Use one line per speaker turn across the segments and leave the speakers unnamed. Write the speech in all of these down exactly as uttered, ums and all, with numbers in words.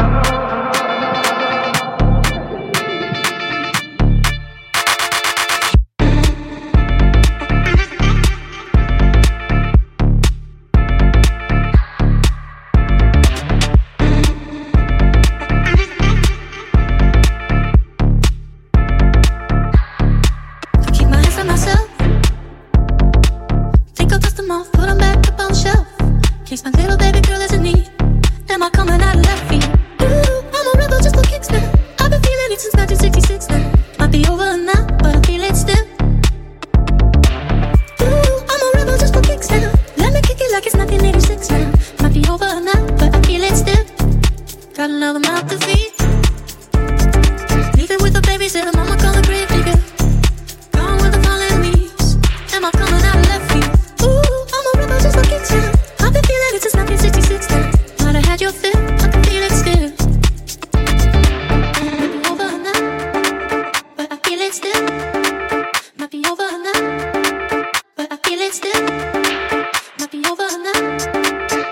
Might be over now,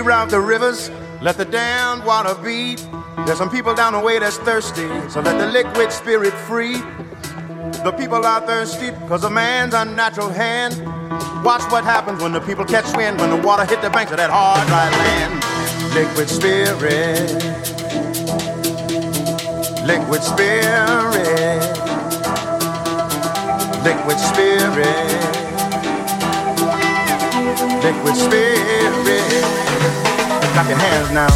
reroute the rivers, let the damned water be. There's some people down the way that's thirsty, so let the liquid spirit free. The people are thirsty because of man's unnatural hand. Watch what happens when the people catch wind, when the water hit the banks of that hard, dry land. Liquid spirit, liquid spirit, liquid spirit, liquid spirit. Clap your hands now.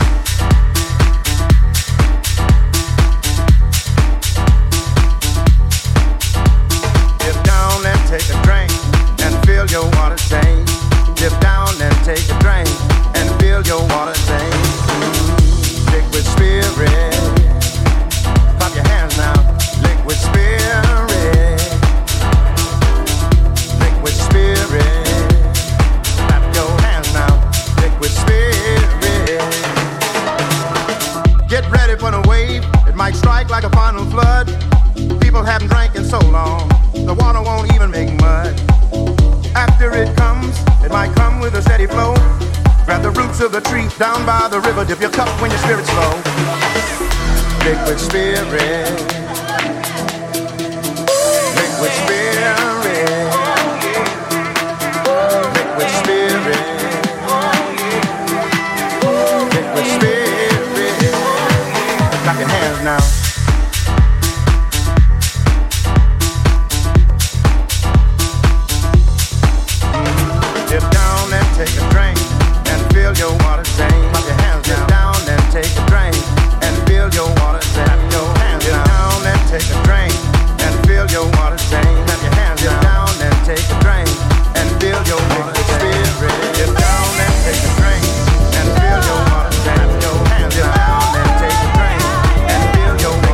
Take a drink and feel your water tank. Dip down and take a drink and feel your water tank. Liquid spirit. Clap your hands now. Liquid spirit. Liquid spirit. Clap your hands now. Liquid spirit. Get ready for the wave. It might strike like a final flood. People haven't drank in so long, the water won't even make mud. After it comes, it might come with a steady flow. Grab the roots of the tree down by the river, dip your cup when your spirit's low. Liquid spirit, liquid spirit, liquid spirit, liquid spirit. Clap your hands now. Take a drink and feel your water tank. Put your hands down. Get down and take a drink and feel your water tank. Your hands Get down and take a drink and feel your water tank. Clap your hands Get down and take a drink and feel your water spirit. Get down and take a drink and feel your water tank. Your hands Get down and take a drink and feel your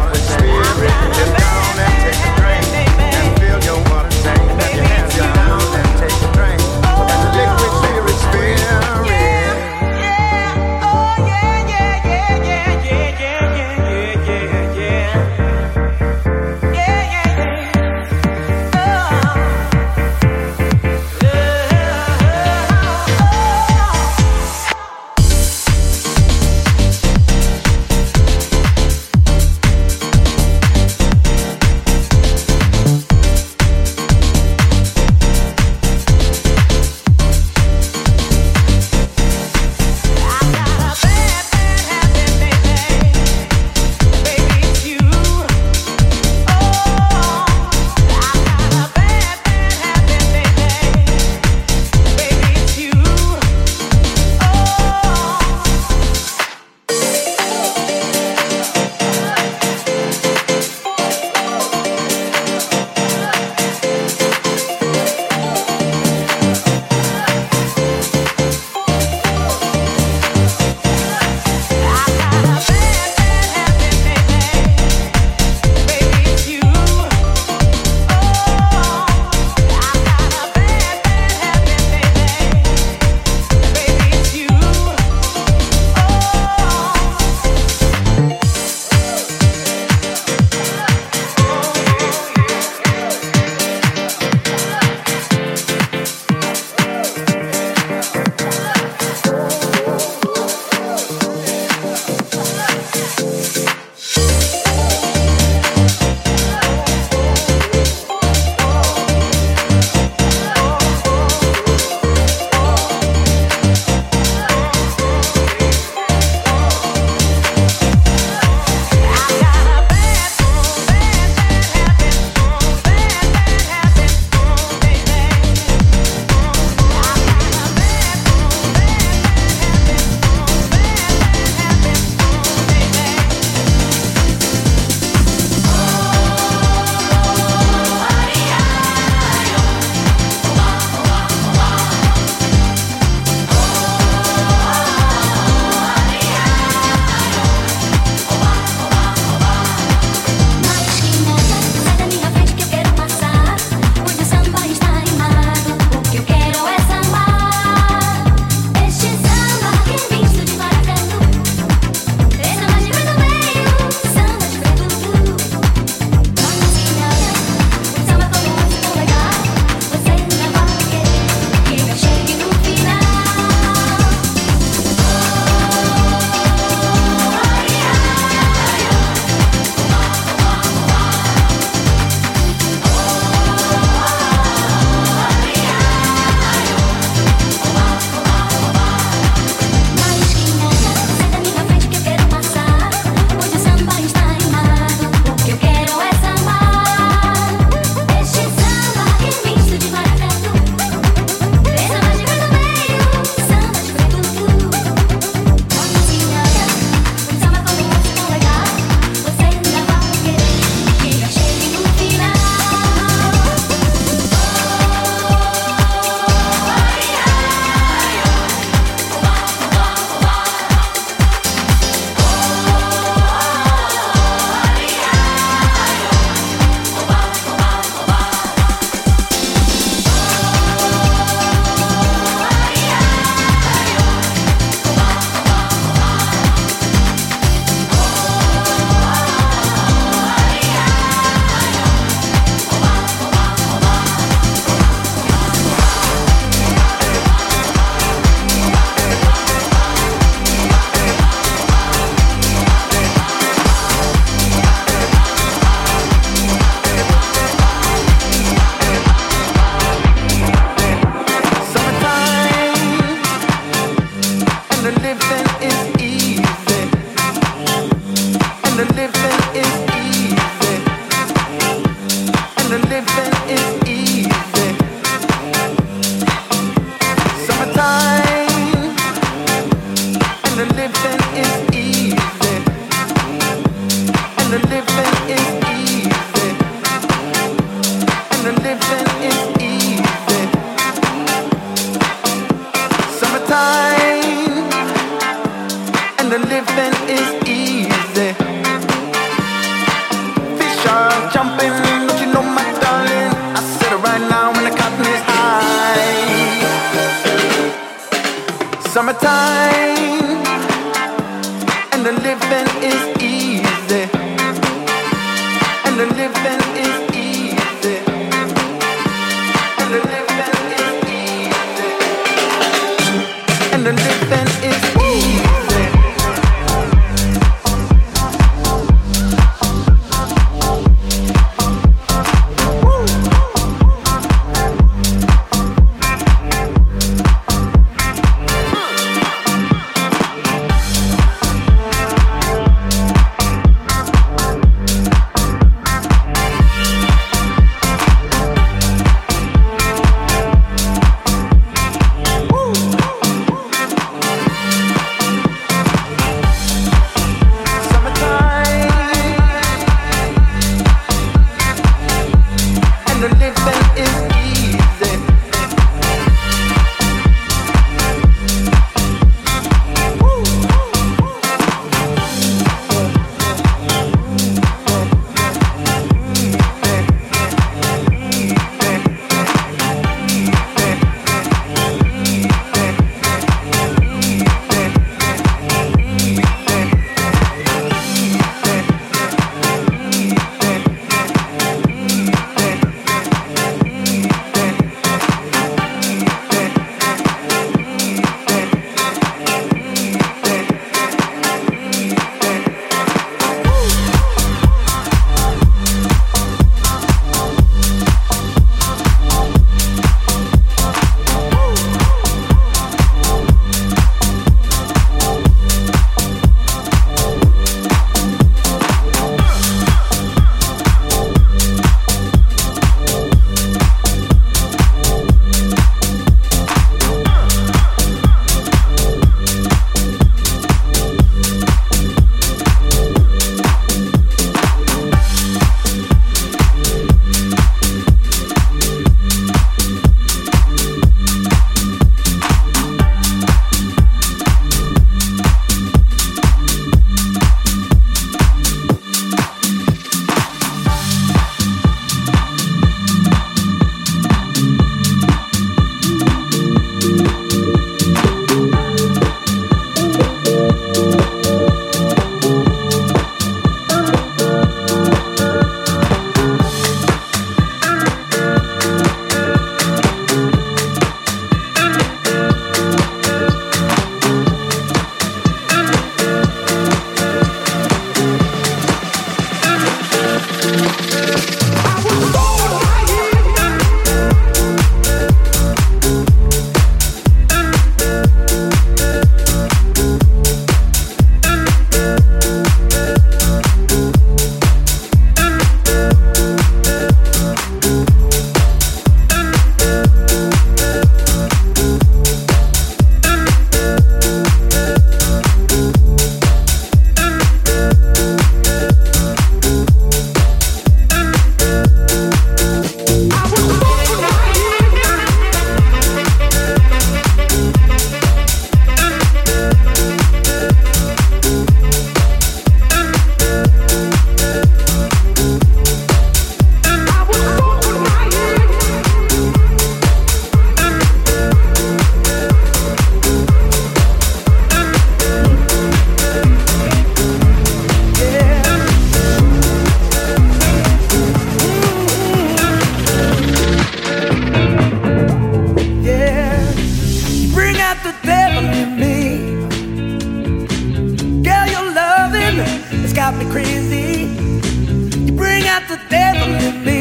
got me crazy. You bring out the devil in me.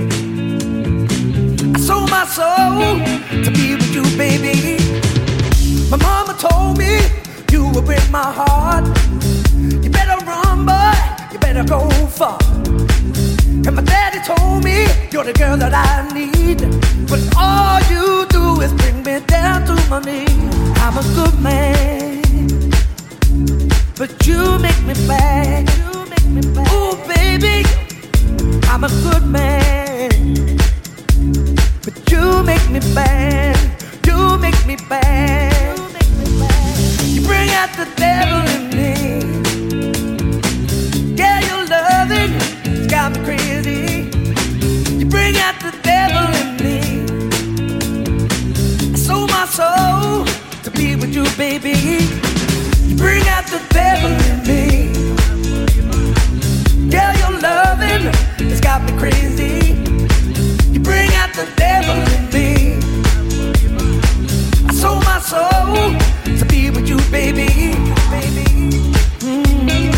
I sold my soul to be with you, baby. My mama told me you would break my heart. You better run, boy, You're the girl that I need, but all you do is bring me down to my knees. I'm a good man, but you make me bad. Ooh, baby, I'm a good man, but you make me bad. You make me bad. You bring out the devil in me. Yeah, your loving has got me crazy. You bring out the devil in me. I sold my soul to be with you, baby. You bring out the devil in me. Yeah, your loving has got me crazy. You bring out the devil in me. I sold my soul to be with you, baby, baby. Mm-hmm.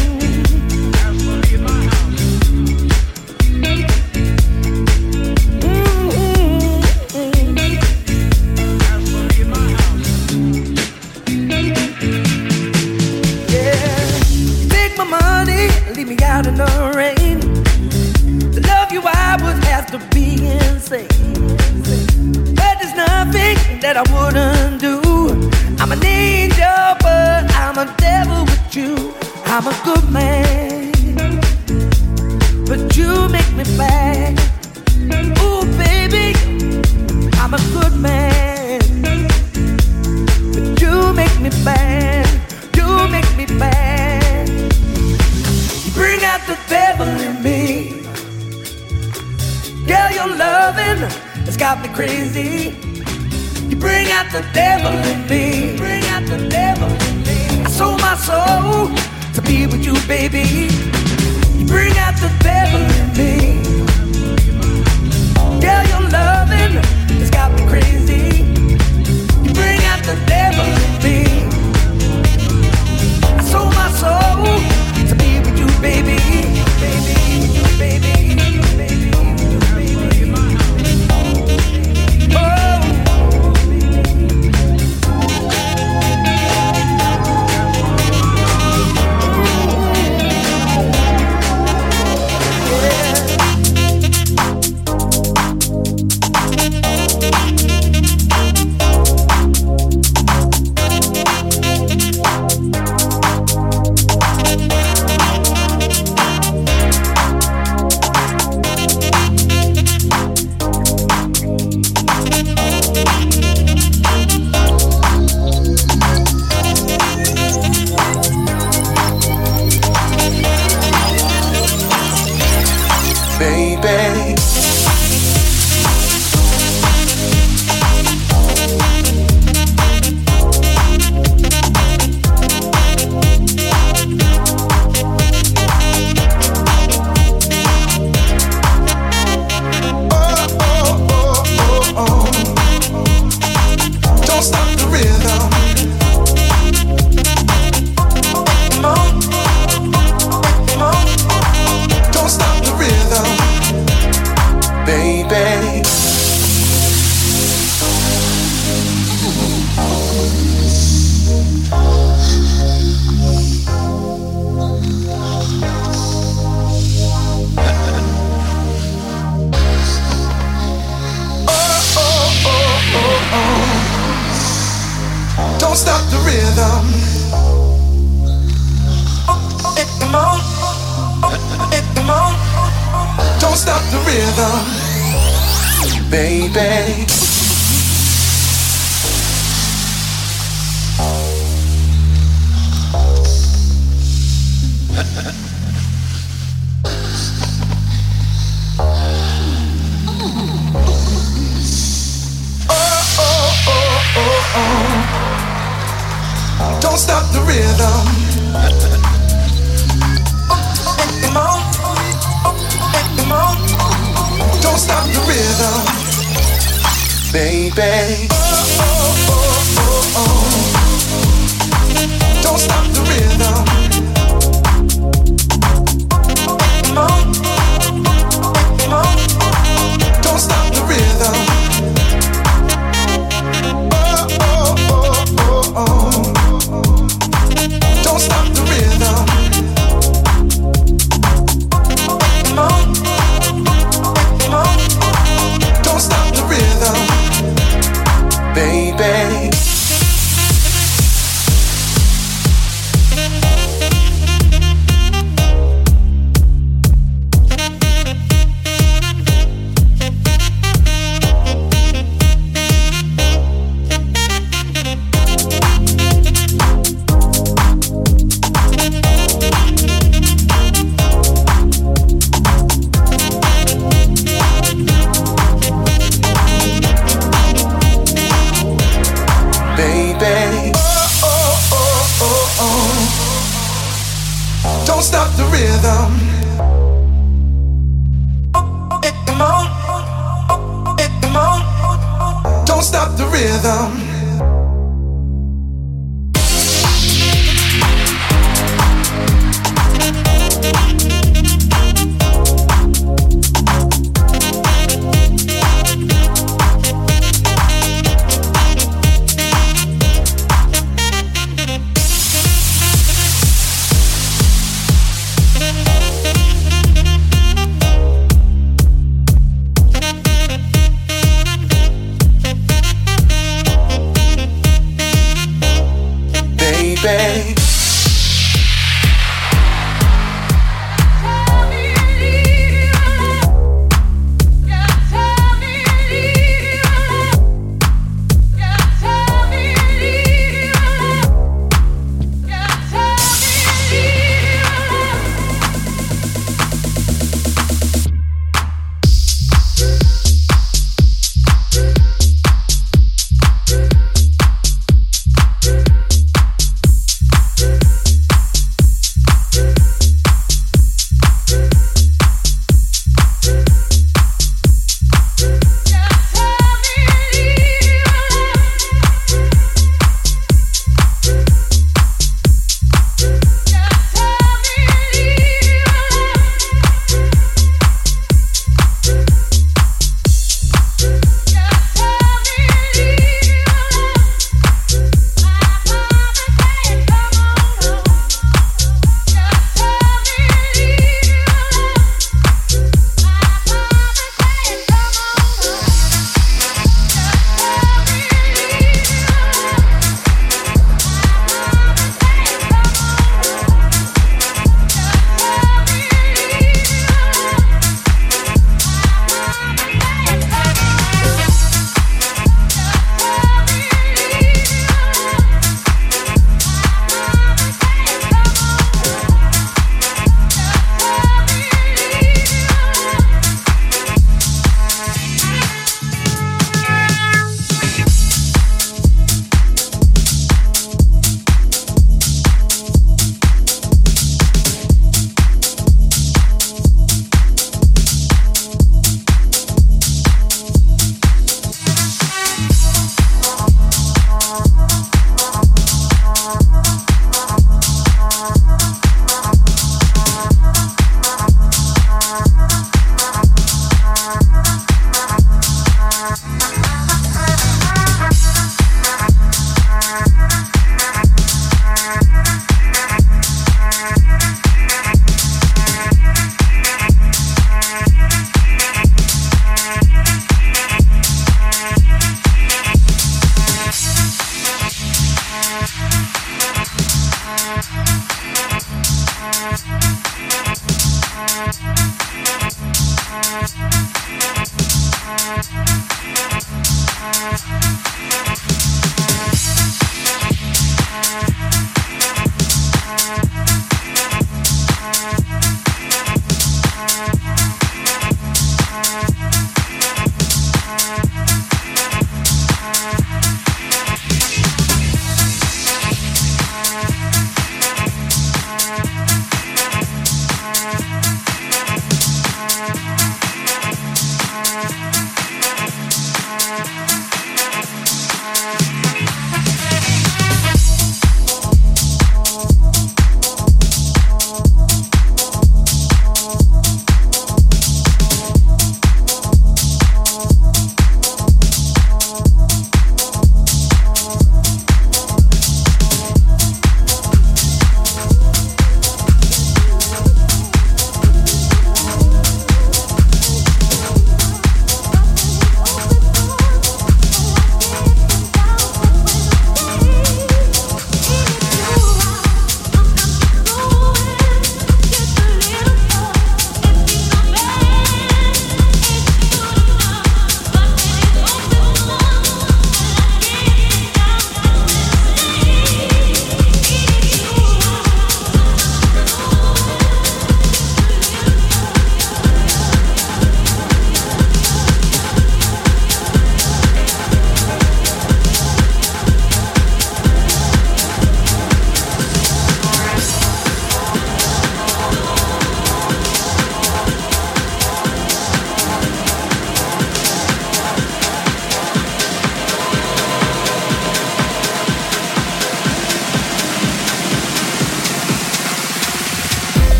Leave me out in the rain. To love you I would have to be insane. But there's nothing that I wouldn't do. I'm an angel, but I'm a devil with you. I'm a good man, but you make me bad. Ooh, baby, I'm a good man, but you make me bad. You make me bad. Bring out the devil in me. Girl, your loving has got me crazy. You bring out the devil in me. Bring out the devil in me. I sold my soul to be with you, baby. You bring out the devil in me. Girl, your loving has got me crazy. You bring out the devil in me. I sold my soul to be with you, baby, baby, you, baby, baby, baby. Oh.
Come on.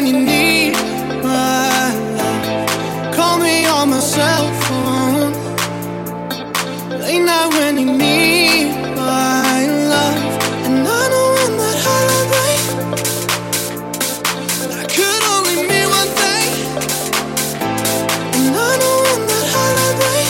when you need my love. Call me on my cell phone. Late night when you need my love. And I know when that holiday, that could only mean one thing. And I know when that holiday,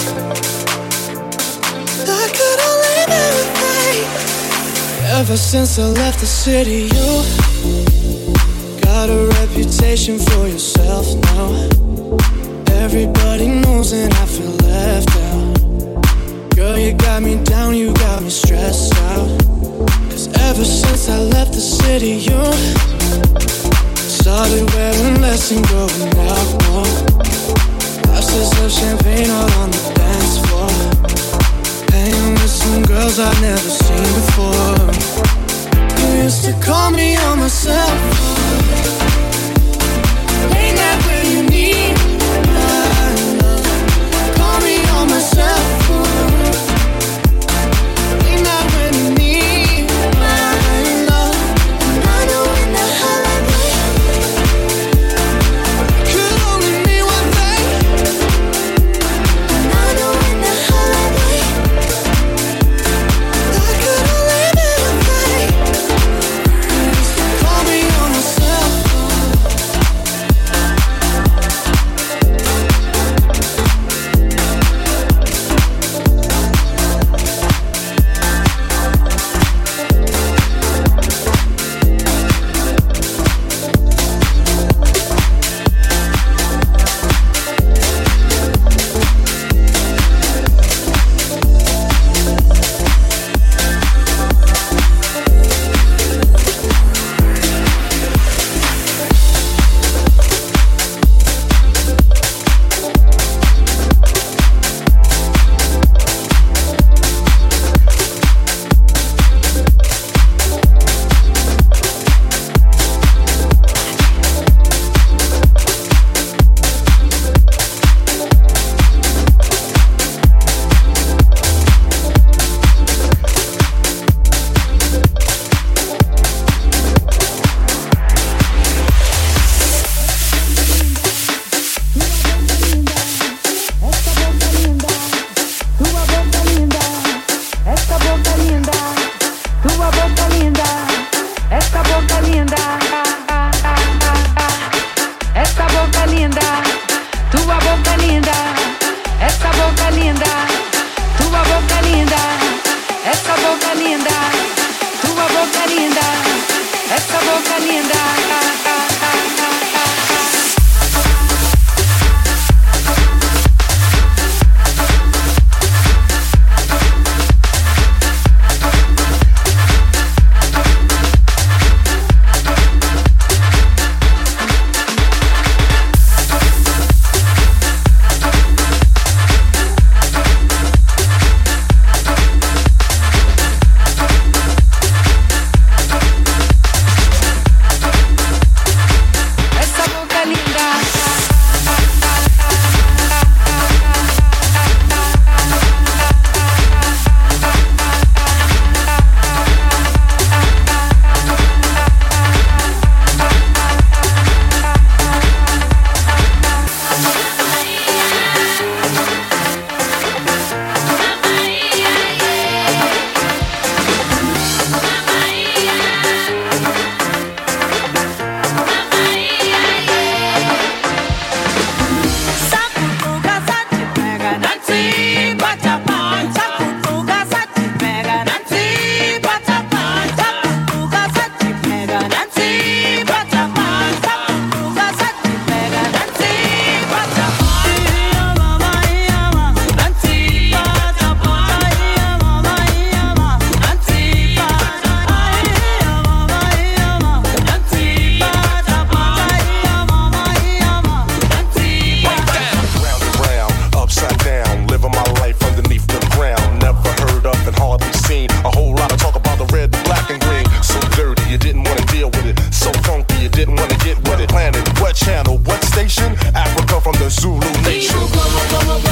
that could only mean one thing. Ever since I left the city, you got a reputation for yourself now. Everybody knows and I feel left out. Girl, you got me down, you got me stressed out. Cause ever since I left the city, you started wearing less and going out more. Glasses of champagne all on the dance floor. Hanging with some girls I've never seen before. You used to call me on my cell phone. Ain't that when you need my love? Call me on my cell phone. Ain't that when you need my love? And I know in the holiday, could only mean one thing. And I know in the holiday, that could only mean one thing. You used to call me on my cell phone.
What channel? What station? Africa from the Zulu nation.